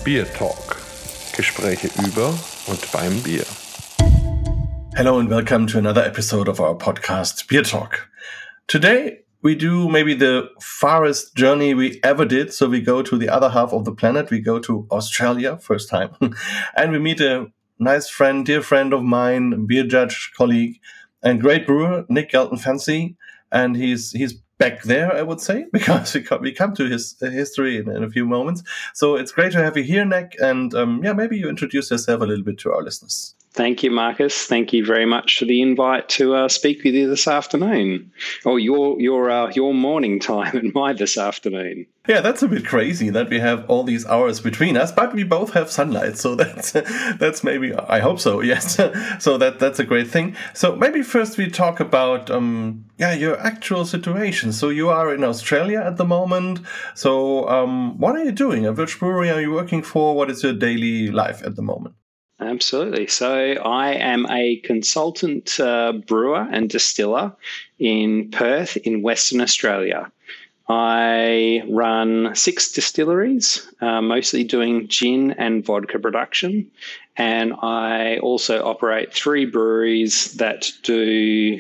Beer Talk. Gespräche über und beim Bier. Hello and welcome to another episode of our podcast, Beer Talk. Today we do maybe the farthest journey we ever did. So we go to the other half of the planet. We go to Australia, first time. And we meet a nice friend, dear friend of mine, beer judge, colleague, and great brewer, Nick Galton Fancy. And he's back there, I would say, because we come to his history in a few moments. So it's great to have you here, Nick. And maybe you introduce yourself a little bit to our listeners. Thank you, Marcus. Thank you very much for the invite to speak with you this afternoon, or your morning time and my this afternoon. Yeah, that's a bit crazy that we have all these hours between us, but we both have sunlight, so that's maybe, I hope so. Yes, so that's a great thing. So maybe first we talk about your actual situation. So you are in Australia at the moment. So what are you doing? Which brewery are you working for? What is your daily life at the moment? Absolutely. So I am a consultant brewer and distiller in Perth in Western Australia. I run 6 distilleries, mostly doing gin and vodka production. And I also operate 3 breweries that do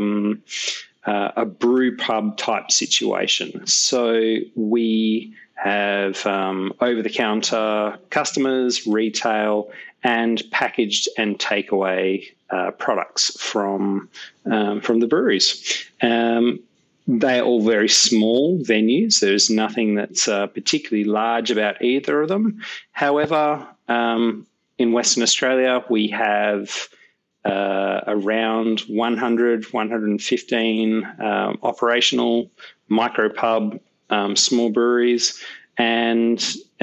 a brew pub type situation. So we have over-the-counter customers, retail, and packaged and takeaway products from the breweries. They're all very small venues. There's nothing that's particularly large about either of them. However, in Western Australia, we have around 100, 115 operational micropub small breweries, and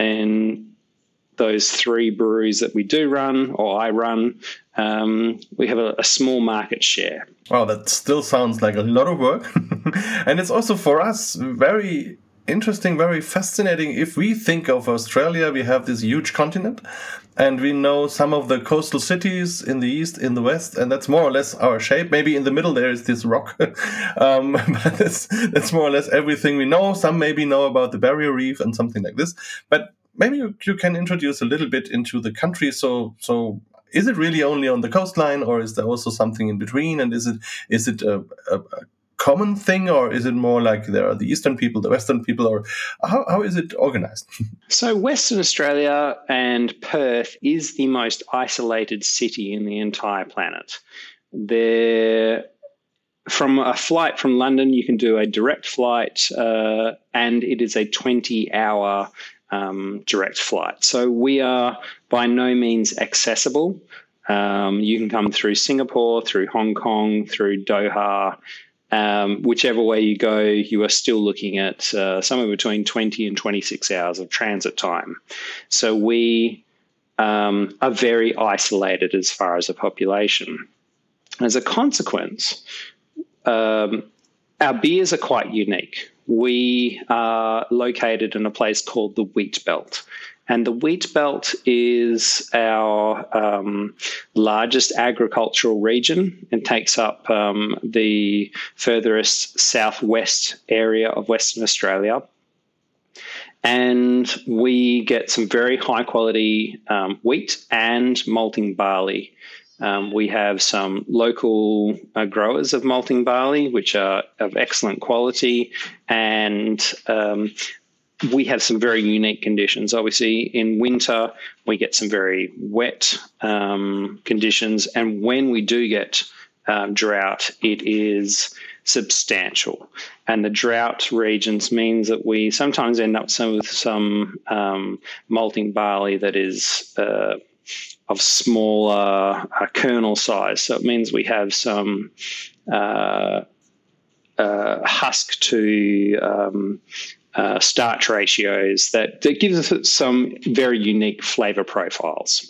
those 3 breweries that we do run, or I run, we have a small market share. Wow, that still sounds like a lot of work. And it's also for us very interesting, very fascinating. If we think of Australia, we have this huge continent, and we know some of the coastal cities in the east, in the west, and that's more or less our shape. Maybe in the middle there is this rock, but that's more or less everything we know. Some maybe know about the Barrier Reef and something like this, but maybe you can introduce a little bit into the country. So is it really only on the coastline, or is there also something in between? And is it a common thing, or is it more like there are the eastern people, the western people, or how is it organized? So Western Australia and Perth is the most isolated city in the entire planet. From a flight from London, you can do a direct flight, and it is a 20-hour direct flight. So we are by no means accessible. You can come through Singapore, through Hong Kong, through Doha. Whichever way you go, you are still looking at somewhere between 20 and 26 hours of transit time. So we are very isolated as far as a population. As a consequence, our beers are quite unique. We are located in a place called the Wheat Belt. And the Wheat Belt is our largest agricultural region and takes up the furthest southwest area of Western Australia. And we get some very high quality wheat and malting barley. We have some local growers of malting barley, which are of excellent quality, and we have some very unique conditions. Obviously, in winter, we get some very wet conditions, and when we do get drought, it is substantial. And the drought regions means that we sometimes end up with some malting barley that is of smaller kernel size. So it means we have some husk to starch ratios that gives us some very unique flavour profiles.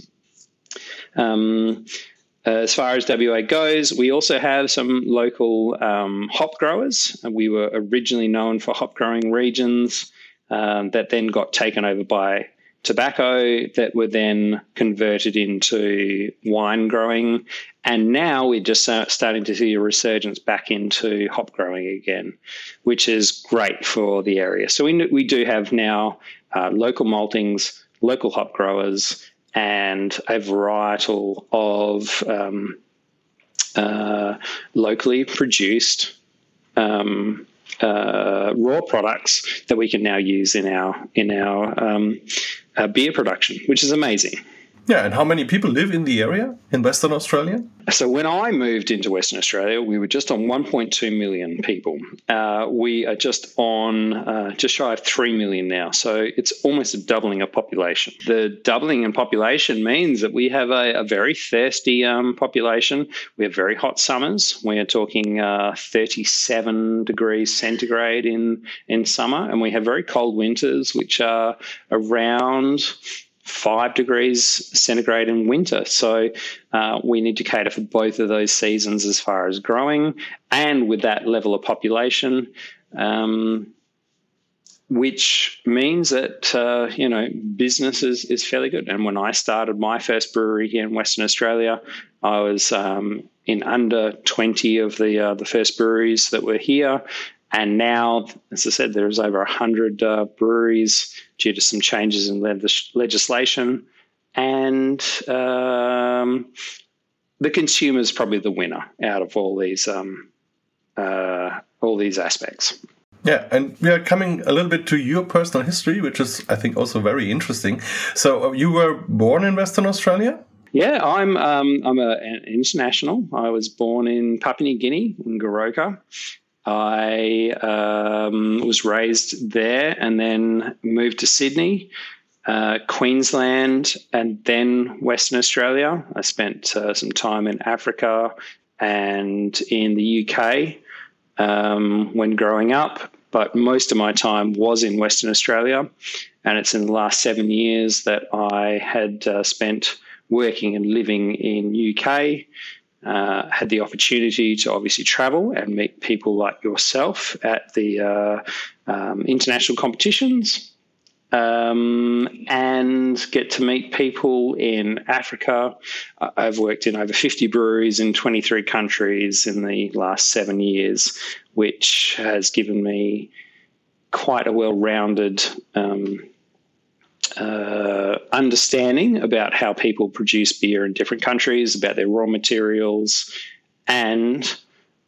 As far as WA goes, we also have some local hop growers. We were originally known for hop growing regions that then got taken over by tobacco, that were then converted into wine growing. And now we're just starting to see a resurgence back into hop growing again, which is great for the area. So we do have now local maltings local hop growers, and a varietal of locally produced raw products that we can now use in our beer production, which is amazing. Yeah, and how many people live in the area in Western Australia? So when I moved into Western Australia, we were just on 1.2 million people. We are just on just shy of 3 million now. So it's almost a doubling of population. The doubling in population means that we have a very thirsty population. We have very hot summers. We are talking 37 degrees centigrade in summer, and we have very cold winters, which are around 5 degrees centigrade in winter. So we need to cater for both of those seasons as far as growing, and with that level of population, which means that, business is fairly good. And when I started my first brewery here in Western Australia, I was in under 20 of the first breweries that were here. And now, as I said, there's over 100 breweries due to some changes in legislation. And the consumer is probably the winner out of all these aspects. Yeah, and we are coming a little bit to your personal history, which is, I think, also very interesting. So you were born in Western Australia? Yeah, I'm an international. I was born in Papua New Guinea, in Goroka. I was raised there and then moved to Sydney, Queensland, and then Western Australia. I spent some time in Africa and in the UK when growing up, but most of my time was in Western Australia. And it's in the last 7 years that I had spent working and living in UK. Had the opportunity to obviously travel and meet people like yourself at the international competitions, and get to meet people in Africa. I've worked in over 50 breweries in 23 countries in the last 7 years, which has given me quite a well-rounded understanding about how people produce beer in different countries, about their raw materials, and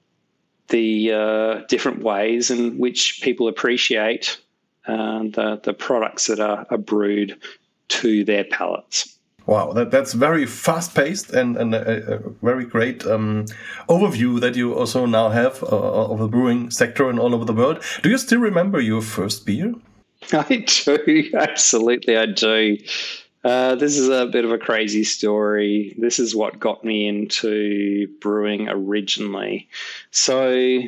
the different ways in which people appreciate the products that are brewed to their palates. Wow, that's very fast-paced and a very great overview that you also now have of the brewing sector and all over the world. Do you still remember your first beer? I do. Absolutely, I do. This is a bit of a crazy story. This is what got me into brewing originally. So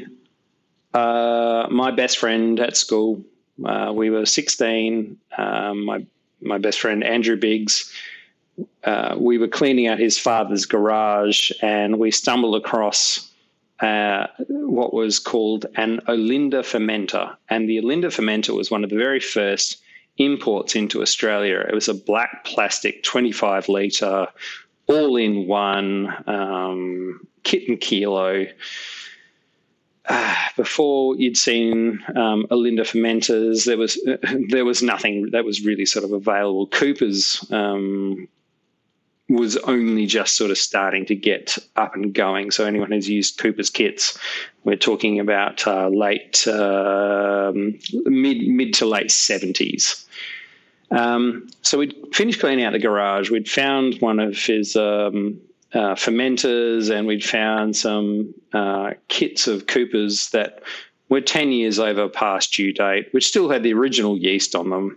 my best friend at school, we were 16. My best friend, Andrew Biggs, we were cleaning out his father's garage, and we stumbled across what was called an Olinda fermenter. And the Olinda fermenter was one of the very first imports into Australia. It was a black plastic 25-litre, all-in-one kit and kilo. Before you'd seen Olinda fermenters, there was nothing that was really sort of available. Cooper's was only just sort of starting to get up and going. So anyone who's used Cooper's kits, we're talking about mid to late 70s. So we'd finished cleaning out the garage. We'd found one of his fermenters, and we'd found some kits of Cooper's that were 10 years over past due date, which still had the original yeast on them.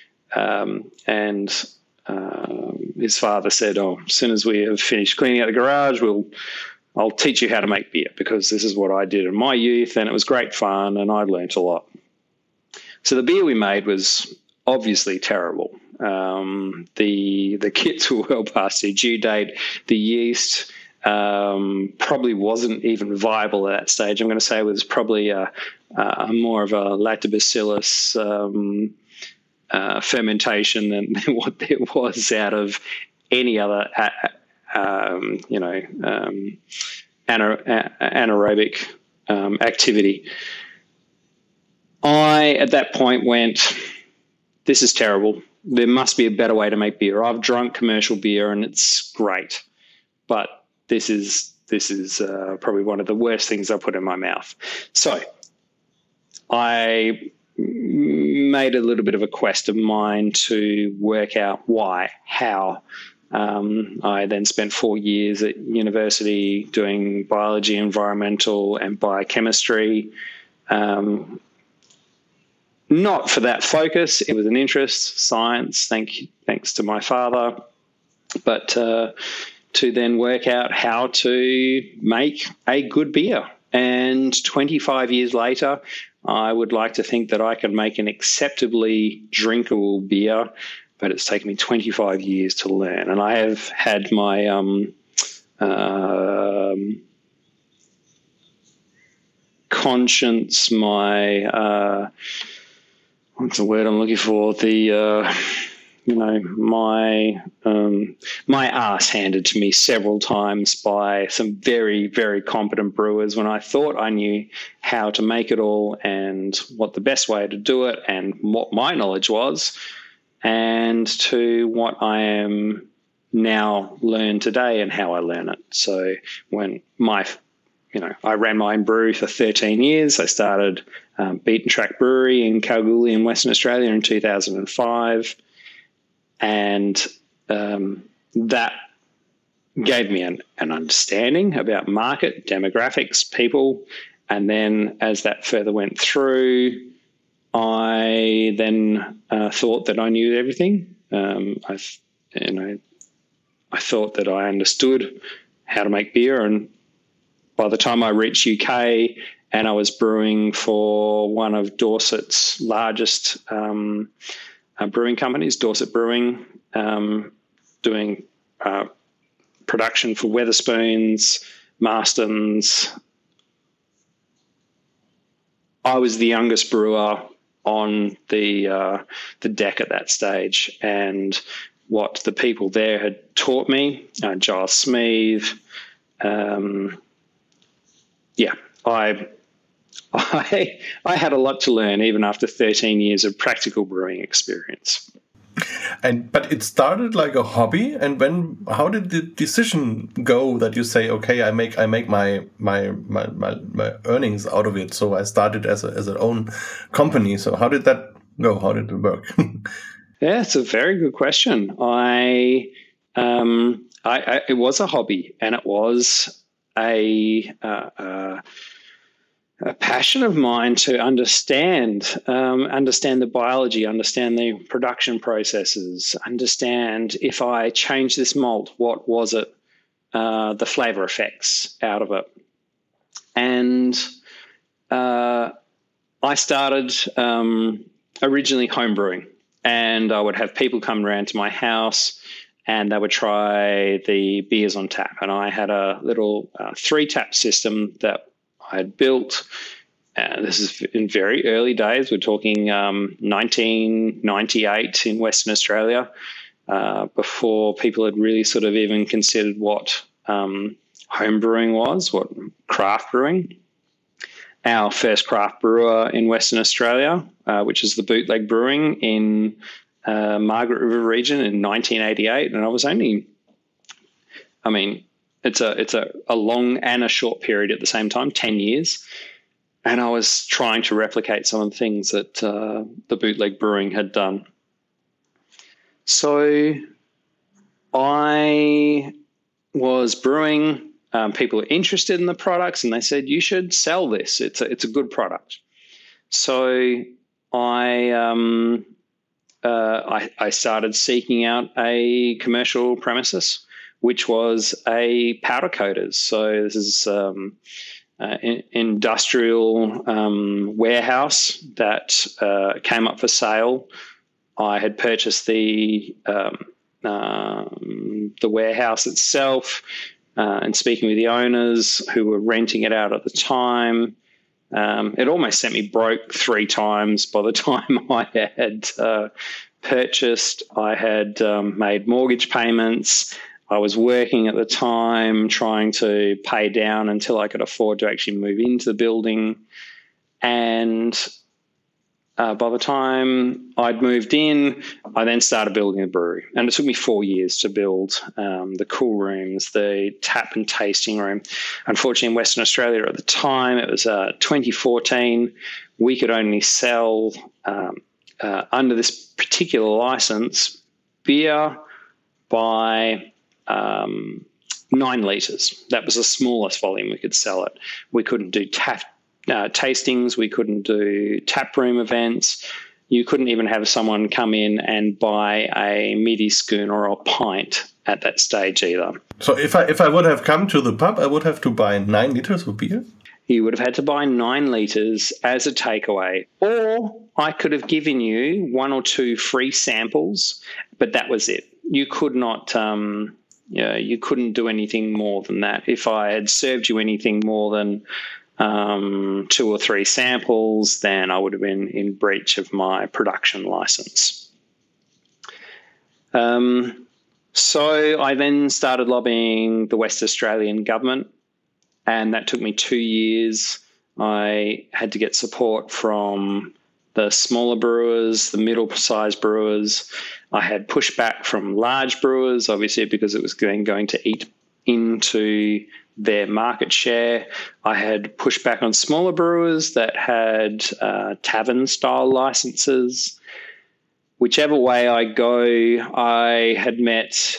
His father said, as soon as we have finished cleaning out the garage, I'll teach you how to make beer, because this is what I did in my youth, and it was great fun, and I learnt a lot. So the beer we made was obviously terrible. The kits were well past their due date. The yeast probably wasn't even viable at that stage. I'm going to say it was probably more of a lactobacillus fermentation than what there was out of any other anaerobic activity. I at that point went, this is terrible. There must be a better way to make beer. I've drunk commercial beer and it's great, but this is probably one of the worst things I put in my mouth. So I made a little bit of a quest of mine to work out why, how. I then spent 4 years at university doing biology, environmental, and biochemistry. Not for that focus. It was an interest, science, thanks to my father. But to then work out how to make a good beer. And 25 years later, I would like to think that I can make an acceptably drinkable beer, but it's taken me 25 years to learn. And I have had my conscience, my what's the word I'm looking for? My ass handed to me several times by some very, very competent brewers when I thought I knew how to make it all and what the best way to do it and what my knowledge was, and to what I am now learn today and how I learn it. So when I ran my own brewery for 13 years. I started Beaten Track Brewery in Kalgoorlie in Western Australia in 2005. And that gave me an understanding about market, demographics, people. And then as that further went through, I then thought that I knew everything. I thought that I understood how to make beer, and by the time I reached UK and I was brewing for one of Dorset's largest brewing companies, Dorset Brewing, doing production for Wetherspoons, Marstons. I was the youngest brewer on the deck at that stage, and what the people there had taught me, Giles Smeeth, I had a lot to learn even after 13 years of practical brewing experience. But it started like a hobby, and how did the decision go that you say, okay, I make my earnings out of it, so I started as an own company. So how did that go? How did it work? Yeah, it's a very good question. It was a hobby, and it was a passion of mine to understand the biology, understand the production processes, understand if I change this malt, what was it, the flavor effects out of it. And I started originally home brewing, and I would have people come around to my house and they would try the beers on tap. And I had a little 3-tap system that I had built. This is in very early days. We're talking 1998 in Western Australia, before people had really sort of even considered what home brewing was, what craft brewing. Our first craft brewer in Western Australia, which is the Bootleg Brewing in Margaret River region in 1988. And I was it's a long and a short period at the same time, 10 years. And I was trying to replicate some of the things that the Bootleg Brewing had done. So I was brewing. People were interested in the products, and they said, you should sell this. It's a good product. So I started seeking out a commercial premises, which was a powder coaters. So this is industrial warehouse that came up for sale. I had purchased the warehouse itself, and speaking with the owners who were renting it out at the time. It almost sent me broke 3 times by the time I had purchased. I had made mortgage payments. I was working at the time trying to pay down until I could afford to actually move into the building. And by the time I'd moved in, I then started building a brewery. And it took me 4 years to build the cool rooms, the tap and tasting room. Unfortunately, in Western Australia at the time, it was 2014, we could only sell, under this particular license, beer by 9 litres. That was the smallest volume we could sell it. We couldn't do tastings. We couldn't do tap room events. You couldn't even have someone come in and buy a midi spoon or a pint at that stage either. So if I would have come to the pub, I would have to buy 9 liters of beer? You would have had to buy 9 litres as a takeaway, or I could have given you 1 or 2 free samples, but that was it. You could not, you couldn't do anything more than that. If I had served you anything more than 2 or 3 samples, then I would have been in breach of my production license. So I then started lobbying the West Australian government, and that took me 2 years. I had to get support from the smaller brewers, the middle-sized brewers. I had pushback from large brewers, obviously, because it was going to eat into their market share. I had pushback on smaller brewers that had tavern-style licenses. Whichever way I go, I had met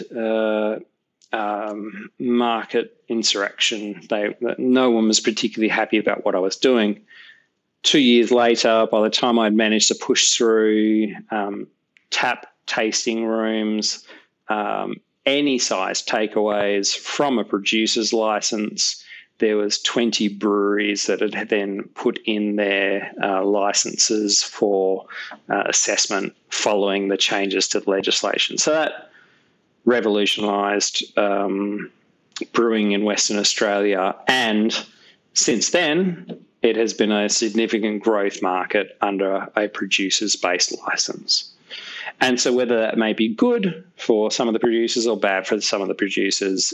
market insurrection. No one was particularly happy about what I was doing. 2 years later, by the time I'd managed to push through tap tasting rooms, any size takeaways from a producer's license, there was 20 breweries that had then put in their licenses for assessment following the changes to the legislation. So that revolutionised brewing in Western Australia, and since then it has been a significant growth market under a producer's-based licence. And so whether that may be good for some of the producers or bad for some of the producers,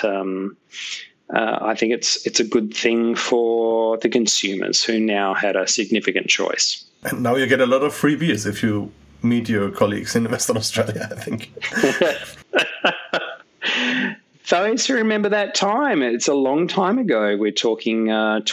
I think it's a good thing for the consumers who now had a significant choice. And now you get a lot of free beers if you meet your colleagues in Western Australia, I think. Those who remember that time, it's a long time ago. We're talking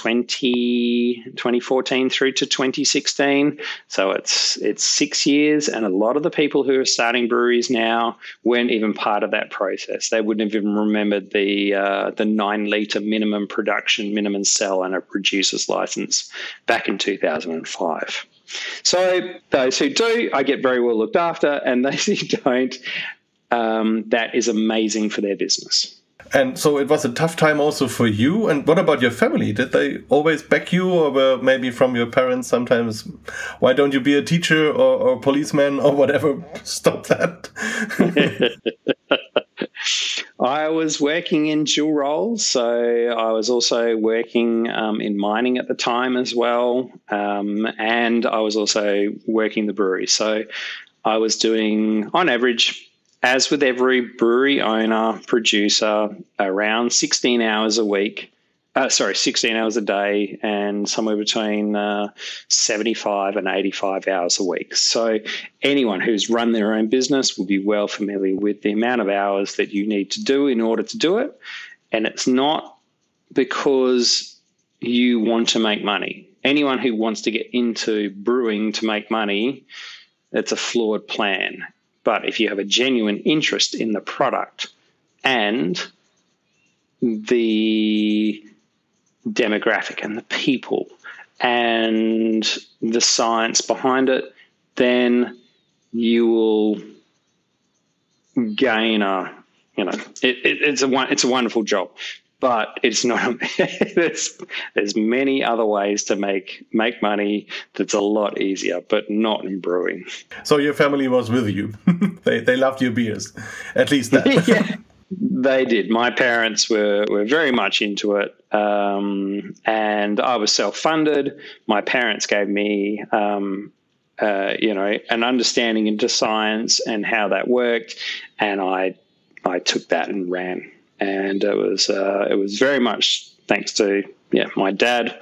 2014 through to 2016. So it's 6 years, and a lot of the people who are starting breweries now weren't even part of that process. They wouldn't have even remembered the 9 litre minimum production, minimum sell, and a producer's license back in 2005. So those who do, I get very well looked after, and those who don't, that is amazing for their business. And so it was a tough time also for you. And what about your family? Did they always back you, or were maybe from your parents sometimes, why don't you be a teacher or policeman or whatever? Stop that. I was working in dual roles. So I was also working in mining at the time as well. And I was also working the brewery. So I was doing, on average, as with every brewery owner, producer, around 16 hours a week, 16 hours a day, and somewhere between 75 and 85 hours a week. So anyone who's run their own business will be well familiar with the amount of hours that you need to do in order to do it. And it's not because you want to make money. Anyone who wants to get into brewing to make money, it's a flawed plan. But if you have a genuine interest in the product and the demographic and the people and the science behind it, then you will gain it's a wonderful job. But it's not. There's many other ways to make money that's a lot easier, but not in brewing. So your family was with you. They loved your beers, at least that. Yeah, they did. My parents were very much into it, and I was self-funded. My parents gave me, an understanding into science and how that worked, and I took that and ran. And it was very much thanks to my dad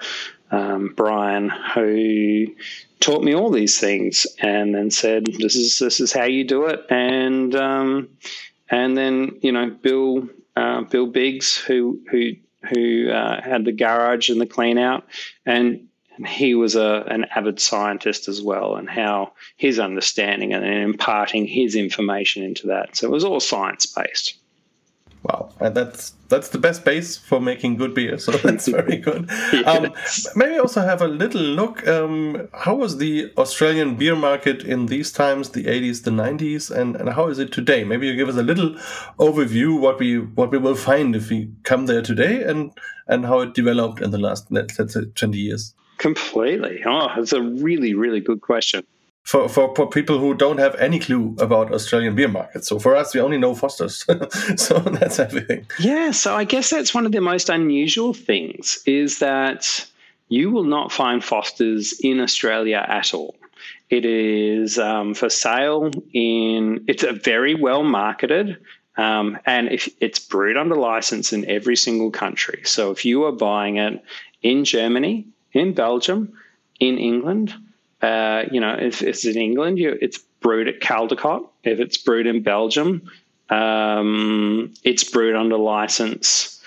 Brian, who taught me all these things, and then said, "This is how you do it." And then Bill Biggs, who had the garage and the clean out, and he was an avid scientist as well, and how his understanding and imparting his information into that. So it was all science-based. Wow, and that's the best base for making good beer, so that's very good. Yes. Maybe also have a little look. How was the Australian beer market in these times, the 80s, the 90s, and how is it today? Maybe you give us a little overview what we will find if we come there today, and how it developed in the last, let's say, 20 years. Completely. Oh, it's a really, really good question. For people who don't have any clue about Australian beer markets. So for us, we only know Foster's. So that's everything. Yeah, so I guess that's one of the most unusual things, is that you will not find Foster's in Australia at all. It is for sale it's a very well marketed, and if it's brewed under license in every single country. So if you are buying it in Germany, in Belgium, in England, if it's in England, it's brewed at Caldecott. If it's brewed in Belgium, it's brewed under license.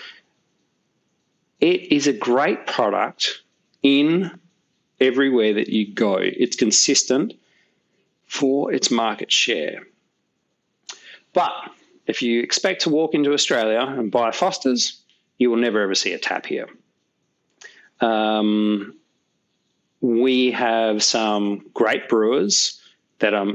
It is a great product in everywhere that you go. It's consistent for its market share. But if you expect to walk into Australia and buy Foster's, you will never ever see a tap here. We have some great brewers that are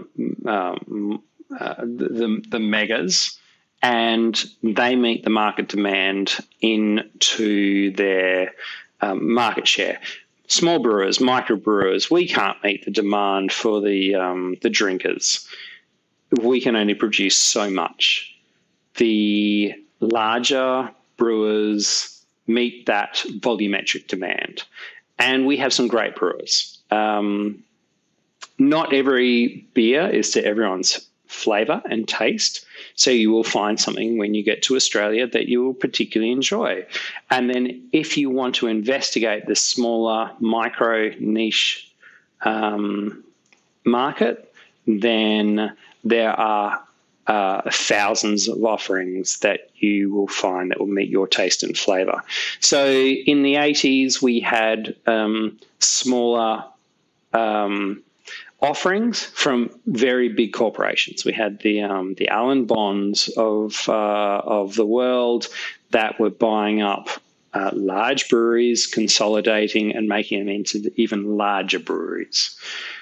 the megas, and they meet the market demand into their market share. Small brewers, micro brewers, we can't meet the demand for the drinkers. We can only produce so much. The larger brewers meet that volumetric demand. And we have some great brewers. Not every beer is to everyone's flavour and taste. So you will find something when you get to Australia that you will particularly enjoy. And then if you want to investigate the smaller micro niche market, then there are thousands of offerings that you will find that will meet your taste and flavour. So in the 80s, we had smaller offerings from very big corporations. We had the Allen Bonds of the world that were buying up large breweries, consolidating and making them into even larger breweries.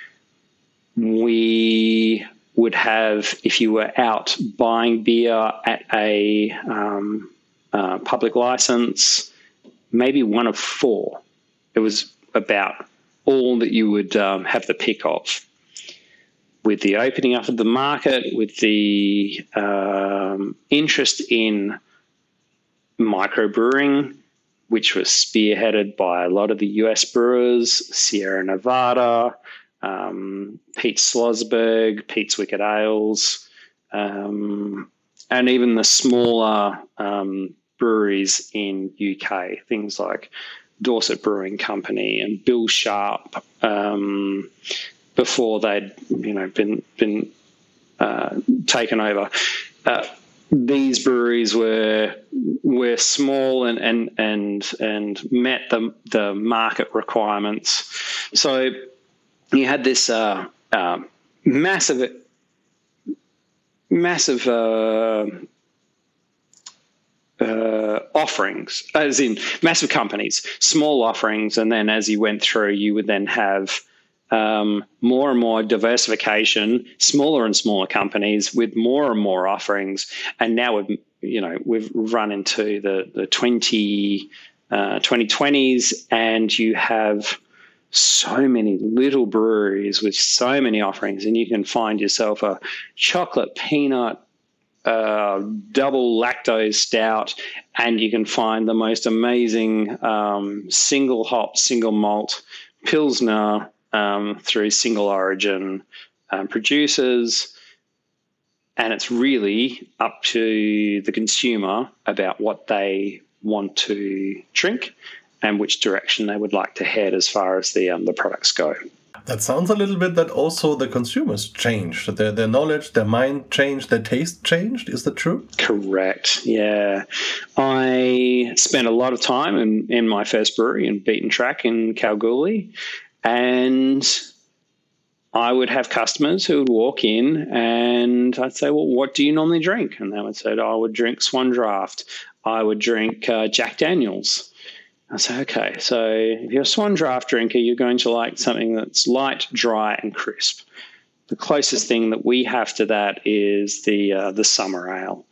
We would have, if you were out buying beer at a public license, maybe one of four. It was about all that you would have the pick of. With the opening up of the market, with the interest in microbrewing, which was spearheaded by a lot of the US brewers, Sierra Nevada, Pete Slosberg, Pete's Wicked Ales, and even the smaller breweries in UK, things like Dorset Brewing Company and Bill Sharp, before they'd been taken over. These breweries were small and met the market requirements. So you had this massive offerings, as in massive companies, small offerings, and then as you went through, you would then have more and more diversification, smaller and smaller companies with more and more offerings, and now we've run into the 2020s, and you have so many little breweries with so many offerings, and you can find yourself a chocolate peanut double lactose stout, and you can find the most amazing single hop, single malt Pilsner through single origin producers. And it's really up to the consumer about what they want to drink and which direction they would like to head as far as the products go. That sounds a little bit that also the consumers changed. Their knowledge, their mind changed, their taste changed. Is that true? Correct, yeah. I spent a lot of time in my first brewery in Beaten Track in Kalgoorlie, and I would have customers who would walk in and I'd say, well, what do you normally drink? And they would say, I would drink Swan Draft. I would drink Jack Daniels. I say, okay, so if you're a Swan Draft drinker, you're going to like something that's light, dry, and crisp. The closest thing that we have to that is the summer ale.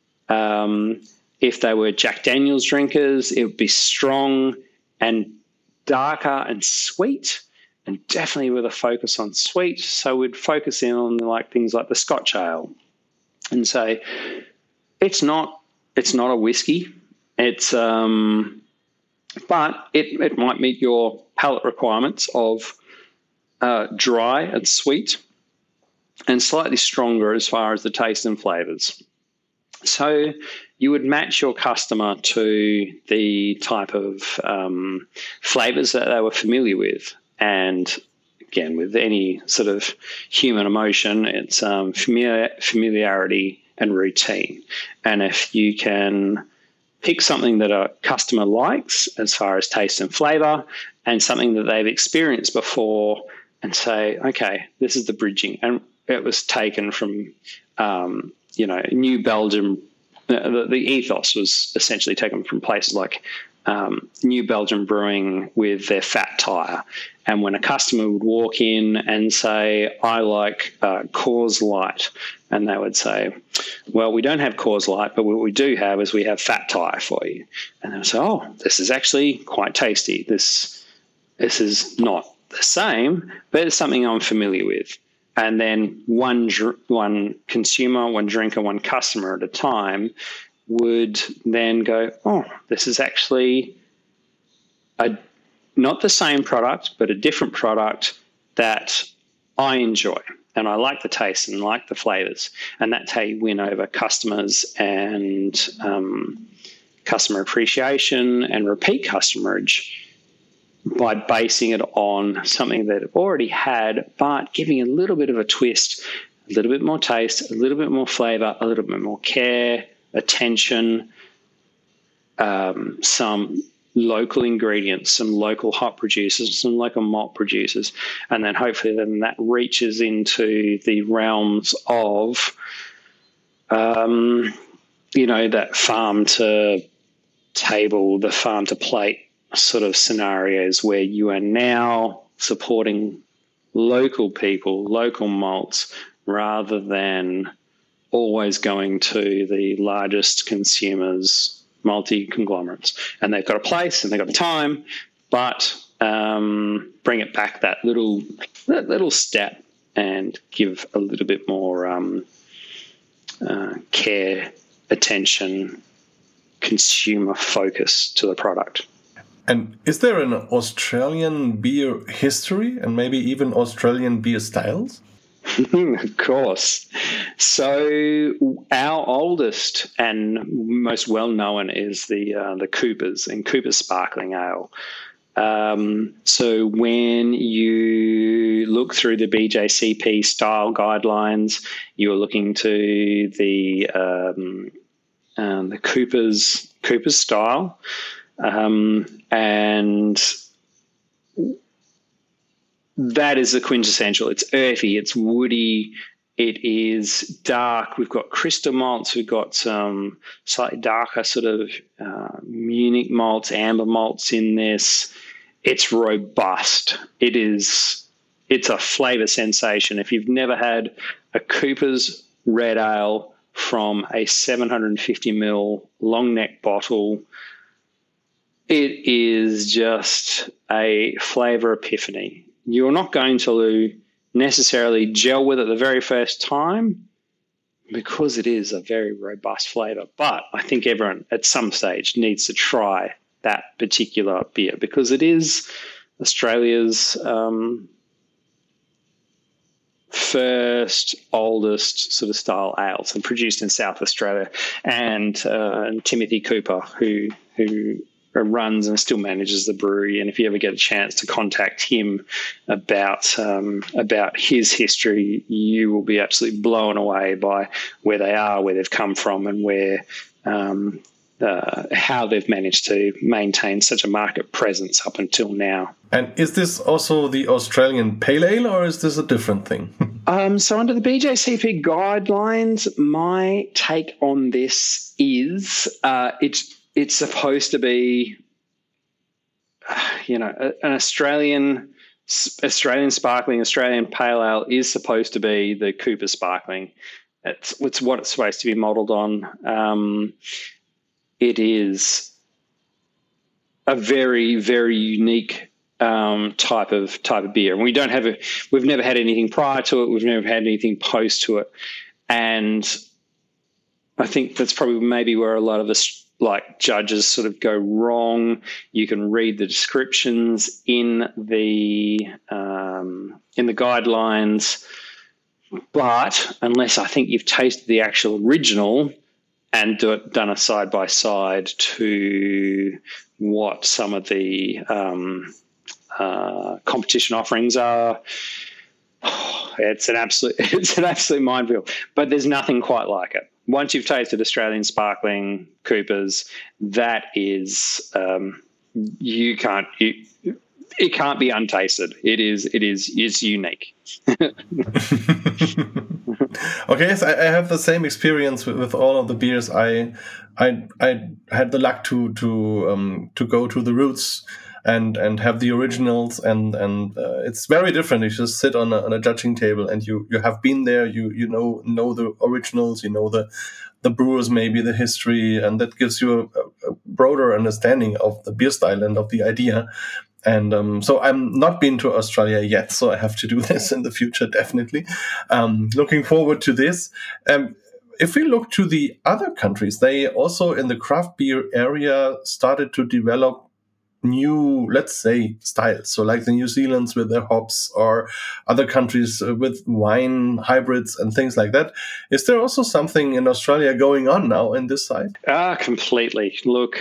If they were Jack Daniels drinkers, it would be strong and darker and sweet, and definitely with a focus on sweet. So we'd focus in on like things like the Scotch ale, and say it's not a whiskey. It's but it might meet your palate requirements of dry and sweet and slightly stronger as far as the taste and flavors. So you would match your customer to the type of flavors that they were familiar with. And again, with any sort of human emotion, it's familiarity and routine. And if you can pick something that a customer likes as far as taste and flavor, and something that they've experienced before, and say, okay, this is the bridging. And it was taken from, New Belgium. The ethos was essentially taken from places like New Belgium Brewing with their Fat Tire. And when a customer would walk in and say, I like Coors Light, and they would say, well, we don't have Coors Light, but what we do have is we have Fat Tire for you. And they would say, oh, this is actually quite tasty. This is not the same, but it's something I'm familiar with. And then one consumer, one drinker, one customer at a time would then go, oh, this is actually not the same product, but a different product that I enjoy. And I like the taste and like the flavors. And that's how you win over customers and customer appreciation and repeat customerage, by basing it on something that it already had, but giving a little bit of a twist, a little bit more taste, a little bit more flavor, a little bit more care, attention, some local ingredients, some local hop producers, some local malt producers, and then hopefully then that reaches into the realms of, that farm to table, the farm to plate sort of scenarios where you are now supporting local people, local malts, rather than always going to the largest consumers, multi-conglomerates. And they've got a place and they've got the time, but bring it back that little step and give a little bit more care, attention, consumer focus to the product. And is there an Australian beer history and maybe even Australian beer styles? Of course. So our oldest and most well-known is the Coopers and Coopers Sparkling Ale. So when you look through the BJCP style guidelines, you're looking to the Coopers style. And that is the quintessential. It's earthy, it's woody, it is dark. We've got crystal malts, we've got some slightly darker sort of Munich malts, amber malts in this. It's robust. It's a flavour sensation. If you've never had a Cooper's Red Ale from a 750ml long neck bottle, it is just a flavour epiphany. You're not going to necessarily gel with it the very first time because it is a very robust flavour. But I think everyone at some stage needs to try that particular beer because it is Australia's first, oldest sort of style ales and produced in South Australia. And Timothy Cooper, who runs and still manages the brewery. And if you ever get a chance to contact him about his history, you will be absolutely blown away by where they are, where they've come from, and where how they've managed to maintain such a market presence up until now. And is this also the Australian Pale Ale, or is this a different thing? So under the BJCP guidelines, my take on this is it's supposed to be, an Australian sparkling, Australian Pale Ale is supposed to be the Cooper Sparkling. It's what it's supposed to be modelled on. It is a very, very unique type of beer, and we've never had anything prior to it. We've never had anything post to it, and I think that's probably maybe where a lot of us judges sort of go wrong. You can read the descriptions in the guidelines, but unless I think you've tasted the actual original and done a side-by-side to what some of the competition offerings are, it's an absolute minefield. But there's nothing quite like it. Once you've tasted Australian Sparkling Coopers, that is it can't be untasted. It's unique. Okay, yes, I have the same experience with all of the beers. I had the luck to go to the Roots and have the originals, and it's very different. You just sit on a judging table, and you have been there. You know the originals. You know the brewers, maybe the history, and that gives you a broader understanding of the beer style and of the idea. And so I'm not been to Australia yet, so I have to do this in the future, definitely. Looking forward to this. If we look to the other countries, they also in the craft beer area started to develop new, let's say, styles. So like the New Zealand's with their hops, or other countries with wine hybrids and things like that. Is there also something in Australia going on now in this side? Completely. Look,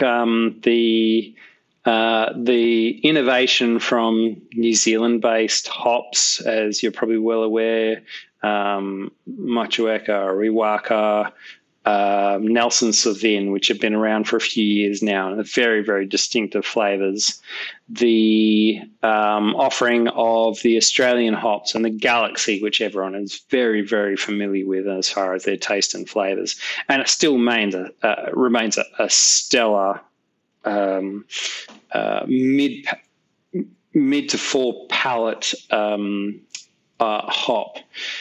the innovation from New Zealand-based hops, as you're probably well aware, Motueka, Riwaka, Nelson Sauvin, which have been around for a few years now, and very, very distinctive flavours. The offering of the Australian hops and the Galaxy, which everyone is very, very familiar with as far as their taste and flavours, and it still remains a stellar mid to full palate hop.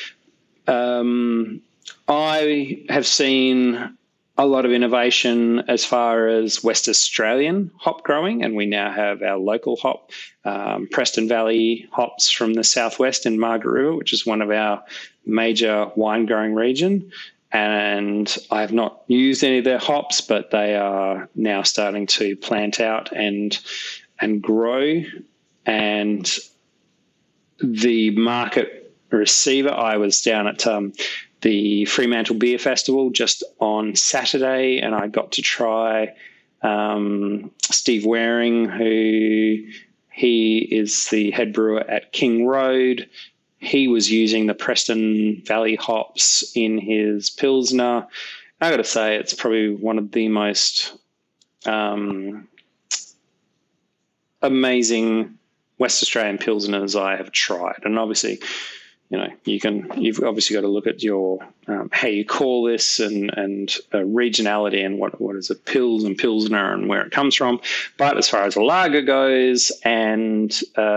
I have seen a lot of innovation as far as West Australian hop growing, and we now have our local hop, Preston Valley hops from the southwest in Margaret River, which is one of our major wine growing region. And I have not used any of their hops, but they are now starting to plant out and grow. And the market receiver, I was down at the Fremantle Beer Festival just on Saturday, and I got to try Steve Waring, he is the head brewer at King Road. He was using the Preston Valley hops in his Pilsner. I got to say, it's probably one of the most amazing West Australian Pilsners I have tried. And obviously, you've obviously got to look at your how you call this and regionality and what is a Pils and Pilsner and where it comes from. But as far as a lager goes and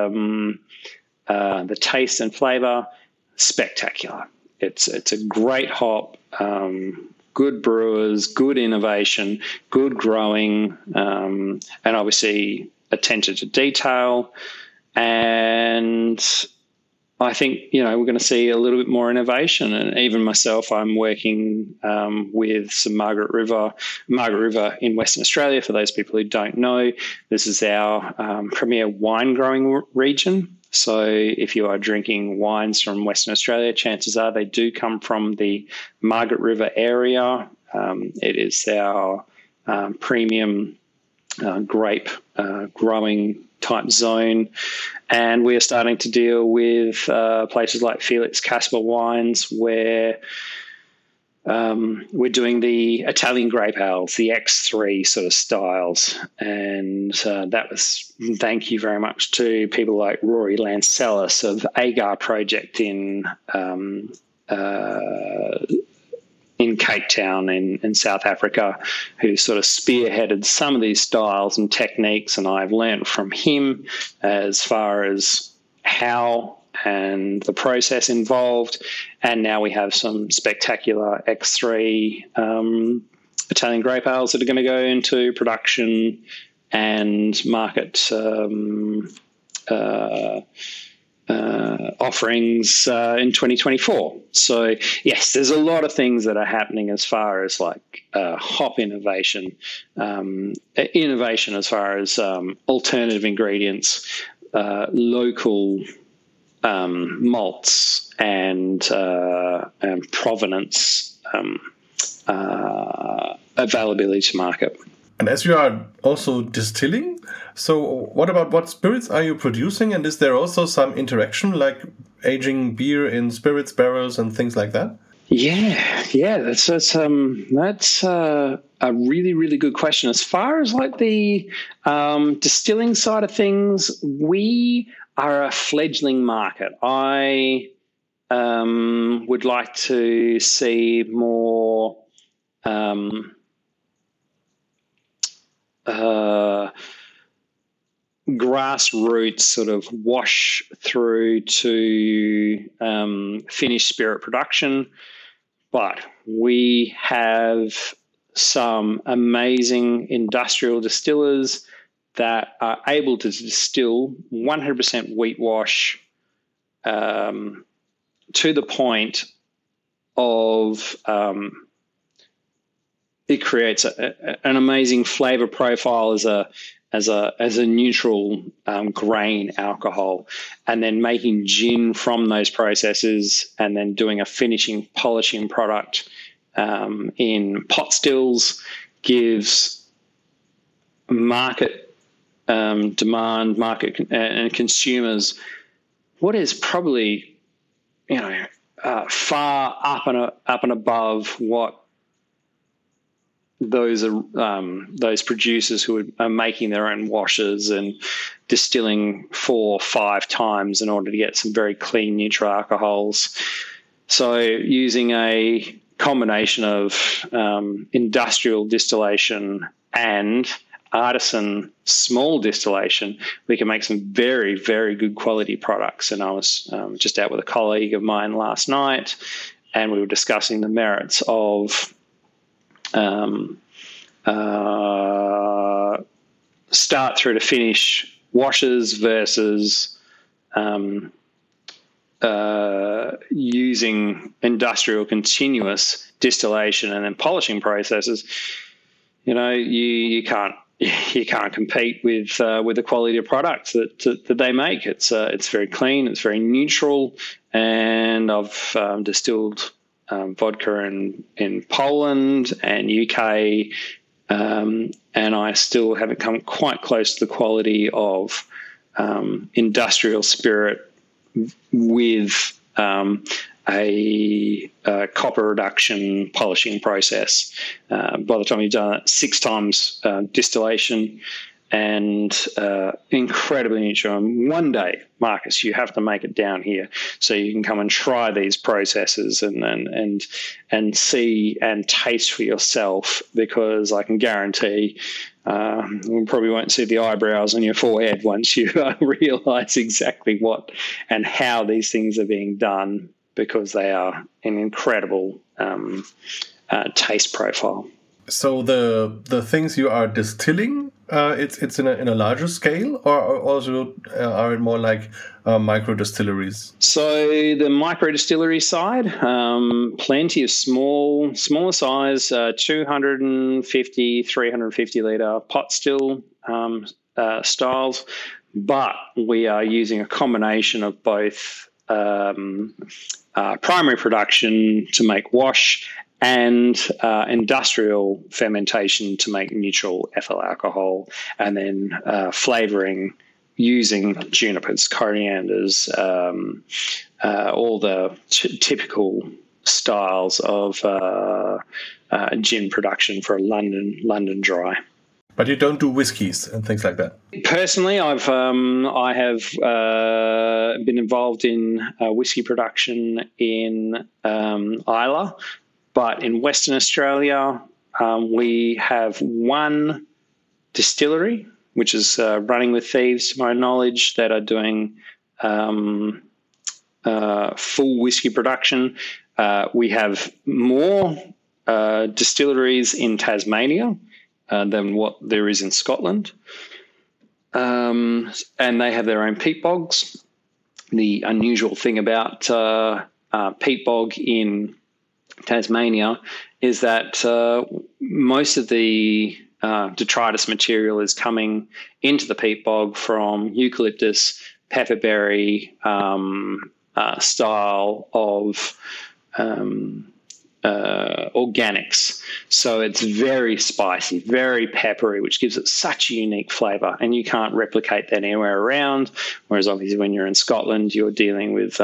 the taste and flavour, spectacular. It's a great hop, good brewers, good innovation, good growing, and obviously attention to detail. And I think, we're going to see a little bit more innovation. And even myself, I'm working with some Margaret River in Western Australia. For those people who don't know, this is our premier wine growing region. So if you are drinking wines from Western Australia, chances are they do come from the Margaret River area. It is our premium grape growing type zone. And we are starting to deal with places like Felix Casper Wines, where we're doing the Italian grape ales, the X3 sort of styles. And that was thank you very much to people like Rory Lancellis of Agar Project in Cape Town in South Africa, who sort of spearheaded some of these styles and techniques, and I've learned from him as far as how and the process involved. And now we have some spectacular X3 Italian grape ales that are going to go into production and market offerings in 2024. So yes, there's a lot of things that are happening as far as like hop innovation, innovation as far as alternative ingredients, local malts and provenance availability to market. And as you are also distilling, so what spirits are you producing? And is there also some interaction, like aging beer in spirits barrels and things like that? Yeah, that's a really, really good question. As far as like the distilling side of things, we are a fledgling market. I would like to see more grassroots sort of wash through to finished spirit production. But we have some amazing industrial distillers that are able to distill 100% wheat wash to the point of it creates an amazing flavor profile as a neutral grain alcohol, and then making gin from those processes, and then doing a finishing polishing product in pot stills gives market demand, market and consumers what is probably far up and above what those producers who are making their own washes and distilling 4 or 5 times in order to get some very clean neutral alcohols. So using a combination of industrial distillation and artisan small distillation, we can make some very, very good quality products. And I was just out with a colleague of mine last night, and we were discussing the merits of start through to finish washes versus using industrial continuous distillation and then polishing processes. You can't compete with the quality of products that they make. It's very clean, it's very neutral, and I've distilled vodka in Poland and UK, and I still haven't come quite close to the quality of industrial spirit with a copper reduction polishing process. By the time you've done it 6 times distillation and incredibly neutral. And one day, Marcus, you have to make it down here so you can come and try these processes and see and taste for yourself, because I can guarantee you probably won't see the eyebrows on your forehead once you realise exactly what and how these things are being done, because they are an incredible taste profile. So the things you are distilling, it's in a larger scale, or also are it more like micro distilleries? So the micro distillery side, plenty of smaller size, 250, 350 litre pot still styles, but we are using a combination of both primary production to make wash, and industrial fermentation to make neutral ethyl alcohol, and then flavouring using junipers, corianders, all the typical styles of gin production for a London dry. But you don't do whiskies and things like that. Personally, I have been involved in whiskey production in Islay, but in Western Australia, we have one distillery, which is Running with Thieves, to my knowledge, that are doing full whiskey production. We have more distilleries in Tasmania than what there is in Scotland. And they have their own peat bogs. The unusual thing about peat bog in Tasmania is that most of the detritus material is coming into the peat bog from eucalyptus, pepperberry style of organics. So it's very spicy, very peppery, which gives it such a unique flavour, and you can't replicate that anywhere around. Whereas obviously when you're in Scotland, you're dealing with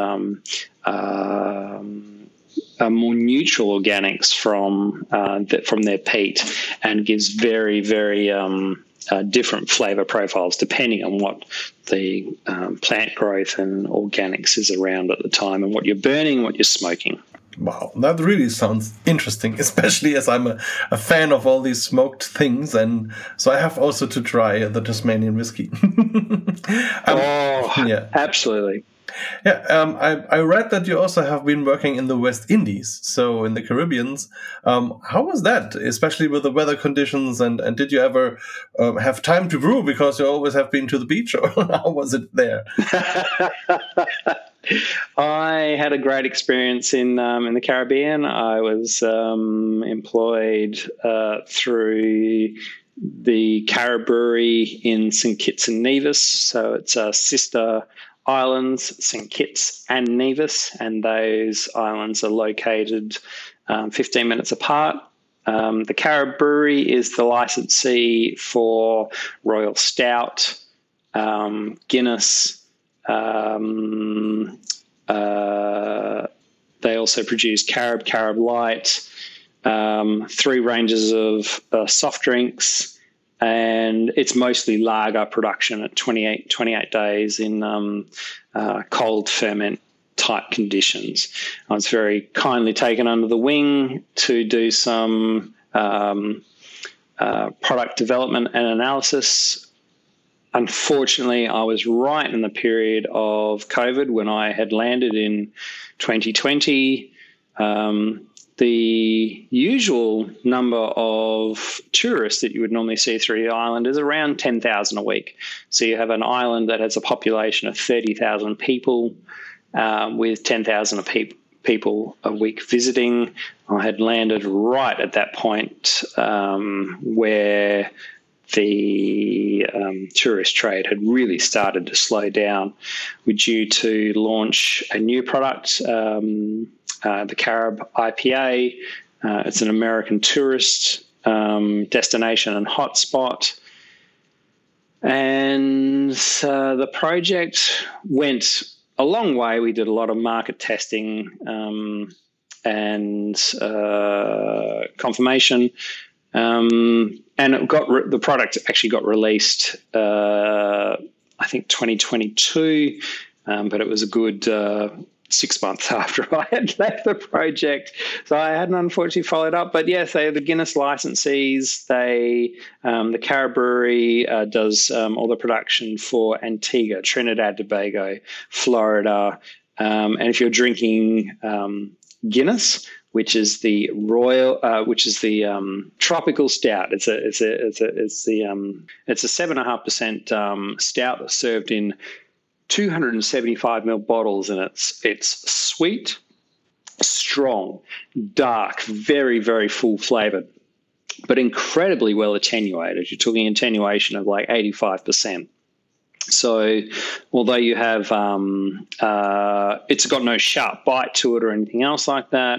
more neutral organics from their peat, and gives very, very different flavour profiles depending on what the plant growth and organics is around at the time, and what you're burning, what you're smoking. Wow, that really sounds interesting, especially as I'm a fan of all these smoked things, and so I have also to try the Tasmanian whiskey. Yeah, absolutely. Yeah, I read that you also have been working in the West Indies, so in the Caribbean. How was that, especially with the weather conditions, and did you ever have time to brew because you always have been to the beach, or how was it there? I had a great experience in the Caribbean. I was employed through the Carib Brewery in St Kitts and Nevis. So it's sister islands, St Kitts and Nevis, and those islands are located 15 minutes apart. The Carib Brewery is the licensee for Royal Stout, Guinness. They also produce Carib Light, 3 ranges of soft drinks, and it's mostly lager production at 28 days in cold ferment type conditions. I was very kindly taken under the wing to do some product development and analysis. Unfortunately, I was right in the period of COVID when I had landed in 2020. The usual number of tourists that you would normally see through the island is around 10,000 a week. So you have an island that has a population of 30,000 people with 10,000 people a week visiting. I had landed right at that point where the tourist trade had really started to slow down. We're due to launch a new product, the Carib IPA. It's an American tourist destination and hotspot. And the project went a long way. We did a lot of market testing and confirmation. And the product actually got released, I think 2022, but it was a good 6 months after I had left the project. So I hadn't unfortunately followed up. But yes, they are the Guinness licensees. The Carib Brewery does all the production for Antigua, Trinidad, Tobago, Florida. And if you're drinking Guinness, which is the tropical stout. It's a 7.5% stout that's served in 275 ml bottles, and it's sweet, strong, dark, very, very full flavored, but incredibly well attenuated. You're talking attenuation of like 85%. So although you have, it's got no sharp bite to it or anything else like that,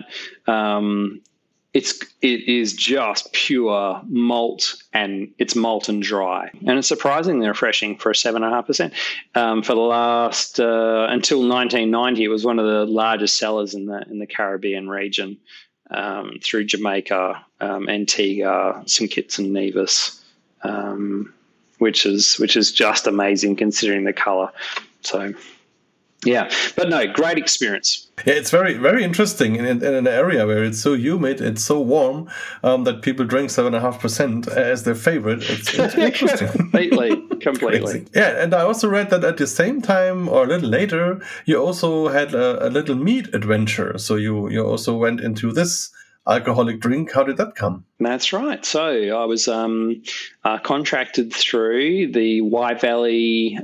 it is just pure malt, and it's malt and dry, and it's surprisingly refreshing for a 7.5%. For the last until 1990, it was one of the largest sellers in the Caribbean region, through Jamaica, Antigua, St Kitts and Nevis. Which is just amazing considering the colour. So, yeah, but no, great experience. Yeah, it's very, very interesting in an area where it's so humid, it's so warm, that people drink 7.5% as their favorite. It's interesting. Completely. Yeah, and I also read that at the same time or a little later, you also had a little mead adventure. So you also went into this alcoholic drink. How did that come? That's right. So I was contracted through the Wye Valley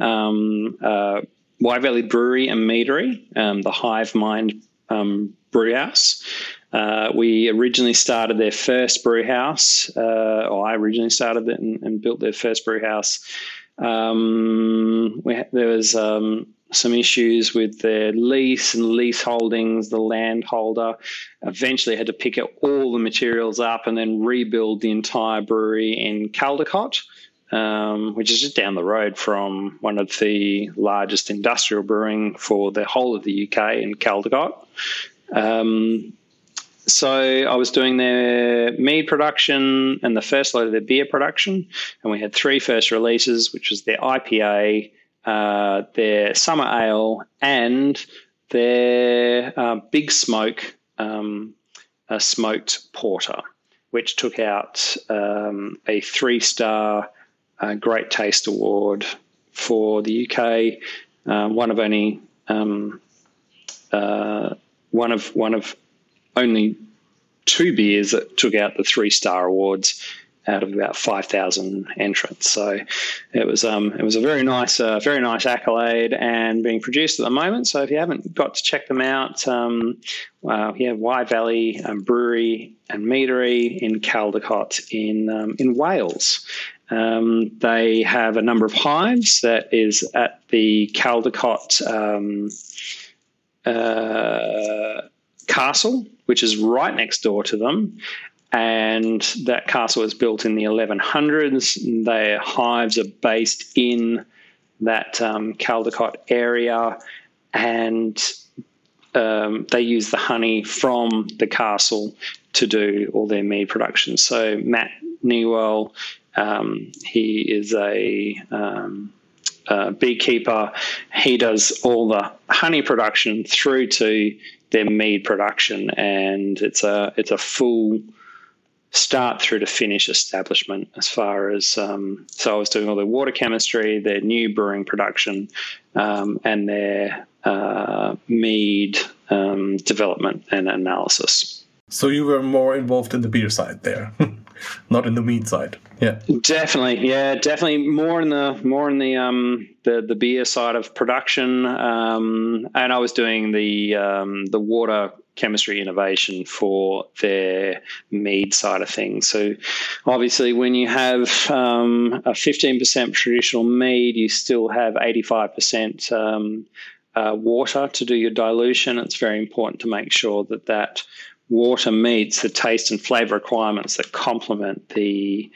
Brewery and Meadery, the Hive Mind brew house. We originally started their first brew house, or I originally started it and built their first brew house. There was some issues with their lease and lease holdings. The landholder eventually had to pick up all the materials up and then rebuild the entire brewery in Caldecott, which is just down the road from one of the largest industrial brewing for the whole of the UK in Caldecott. So I was doing their mead production and the first load of their beer production, and we had 3 first releases, which was their IPA, their summer ale, and their big smoke, a smoked porter, which took out a 3-star Great Taste Award for the UK. One of only 2 beers that took out the 3-star awards out of about 5,000 entrants. So it was a very nice accolade, and being produced at the moment. So if you haven't got to check them out, Wye Valley Brewery and Meadery in Caldecott in Wales. They have a number of hives that is at the Caldecott castle, which is right next door to them. And that castle was built in the 1100s. Their hives are based in that Caldecott area, and they use the honey from the castle to do all their mead production. So Matt Newell, he is a beekeeper. He does all the honey production through to their mead production, and it's a full start through to finish establishment as far as so I was doing all their water chemistry, their new brewing production, and their mead development and analysis. So you were more involved in the beer side there, not in the mead side. Yeah, definitely more in the beer side of production, and I was doing the water chemistry innovation for their mead side of things. So obviously when you have a 15% traditional mead, you still have 85% water to do your dilution. It's very important to make sure that water meets the taste and flavour requirements that complement the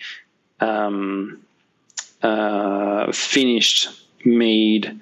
finished mead.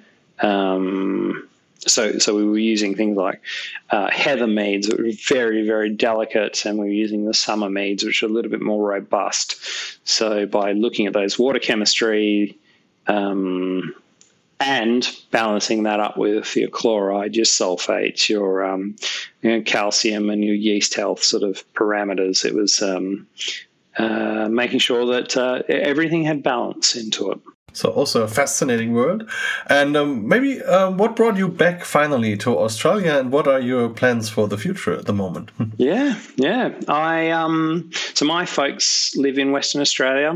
So we were using things like heather meads that were very, very delicate, and we were using the summer meads, which are a little bit more robust. So by looking at those water chemistry and balancing that up with your chloride, your sulfates, your calcium and your yeast health sort of parameters, it was making sure that everything had balance into it. So also a fascinating world. And maybe what brought you back finally to Australia, and what are your plans for the future at the moment? Yeah. So my folks live in Western Australia.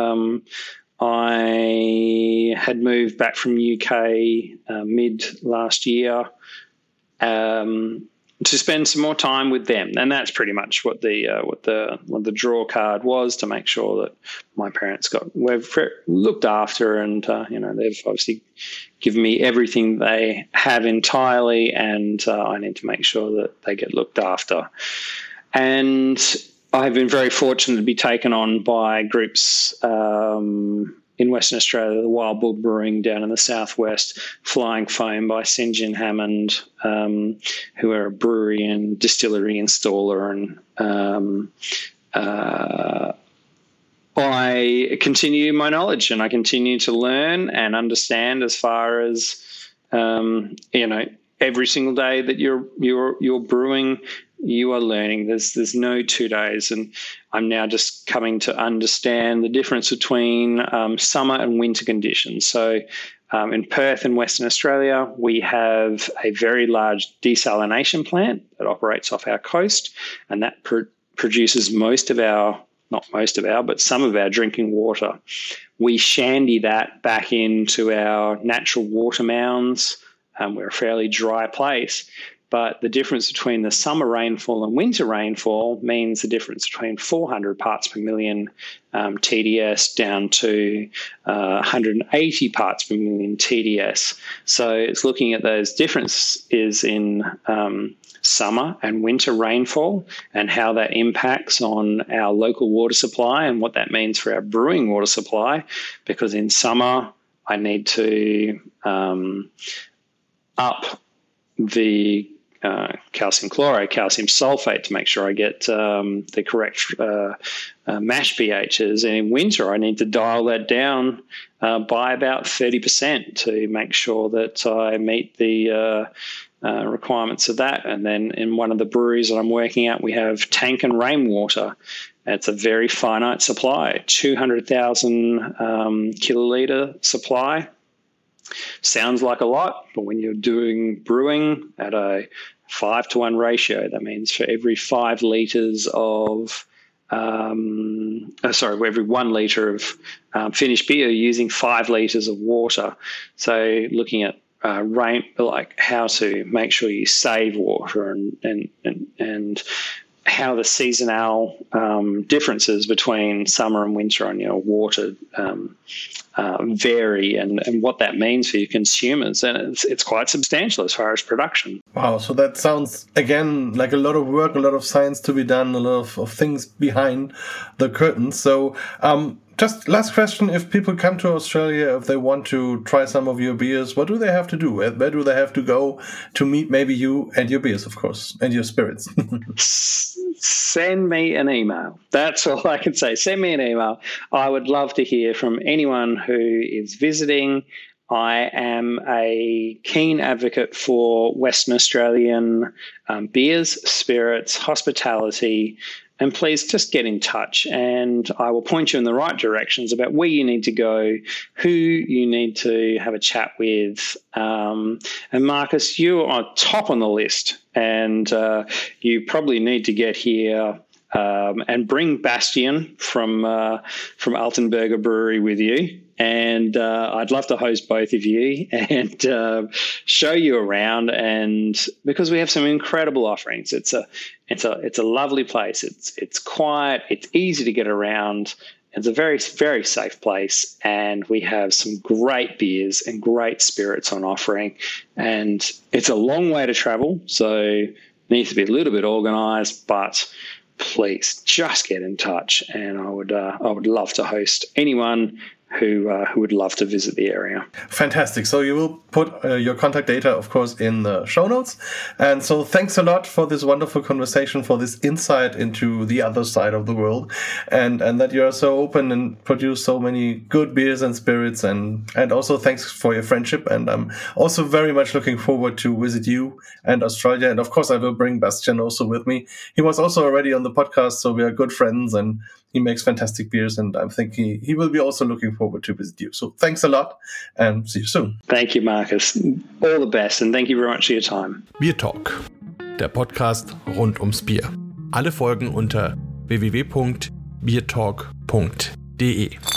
I had moved back from UK mid last year. to spend some more time with them, and that's pretty much what the draw card was, to make sure that my parents were looked after, and they've obviously given me everything they have entirely, and I need to make sure that they get looked after. And I've been very fortunate to be taken on by groups in Western Australia, the Wild Bull Brewing down in the southwest, Flying Foam by St. John Hammond, who are a brewery and distillery installer. And I continue my knowledge, and I continue to learn and understand, as far as every single day that you're brewing, you are learning. There's no 2 days, and I'm now just coming to understand the difference between summer and winter conditions. So in Perth in Western Australia, we have a very large desalination plant that operates off our coast, and that produces some of our drinking water. We shandy that back into our natural water mounds. We're a fairly dry place. But the difference between the summer rainfall and winter rainfall means the difference between 400 parts per million TDS down to 180 parts per million TDS. So it's looking at those differences in summer and winter rainfall and how that impacts on our local water supply and what that means for our brewing water supply. Because in summer, I need to up the calcium chloride, calcium sulfate to make sure I get the correct mash pHs. And in winter, I need to dial that down by about 30% to make sure that I meet the requirements of that. And then in one of the breweries that I'm working at, we have tank and rainwater. It's a very finite supply, 200,000 kiloliter supply. Sounds like a lot, but when you're doing brewing at a 5-to-1 ratio, that means for every 5 liters of every 1 liter of finished beer, you're using 5 liters of water. So looking at like how to make sure you save water and how the seasonal differences between summer and winter on your water vary and what that means for your consumers. And it's quite substantial as far as production. Wow, so that sounds, again, like a lot of work, a lot of science to be done, a lot of things behind the curtain. So just last question, if people come to Australia, if they want to try some of your beers, what do they have to do? Where do they have to go to meet maybe you and your beers, of course, and your spirits? Send me an email. That's all I can say. Send me an email. I would love to hear from anyone who is visiting. I am a keen advocate for Western Australian beers, spirits, hospitality, and please just get in touch and I will point you in the right directions about where you need to go, who you need to have a chat with. And Marcus, you are top on the list and you probably need to get here and bring Bastian from Altenberger Brewery with you. And I'd love to host both of you and show you around. And because we have some incredible offerings, it's a lovely place. It's quiet. It's easy to get around. It's a very, very safe place. And we have some great beers and great spirits on offering. And it's a long way to travel, so it needs to be a little bit organised, but please just get in touch. And I would love to host anyone who would love to visit the area. Fantastic. So you will put your contact data, of course, in the show notes. And so thanks a lot for this wonderful conversation, for this insight into the other side of the world, and that you are so open and produce so many good beers and spirits. And also thanks for your friendship. And I'm also very much looking forward to visit you and Australia. And of course, I will bring Bastian also with me. He was also already on the podcast, so we are good friends and he makes fantastic beers, and I'm thinking he will be also looking forward to visit you. So thanks a lot and see you soon. Thank you, Marcus. All the best and thank you very much for your time. Beer Talk, der Podcast rund ums Bier. Alle Folgen unter www.biertalk.de.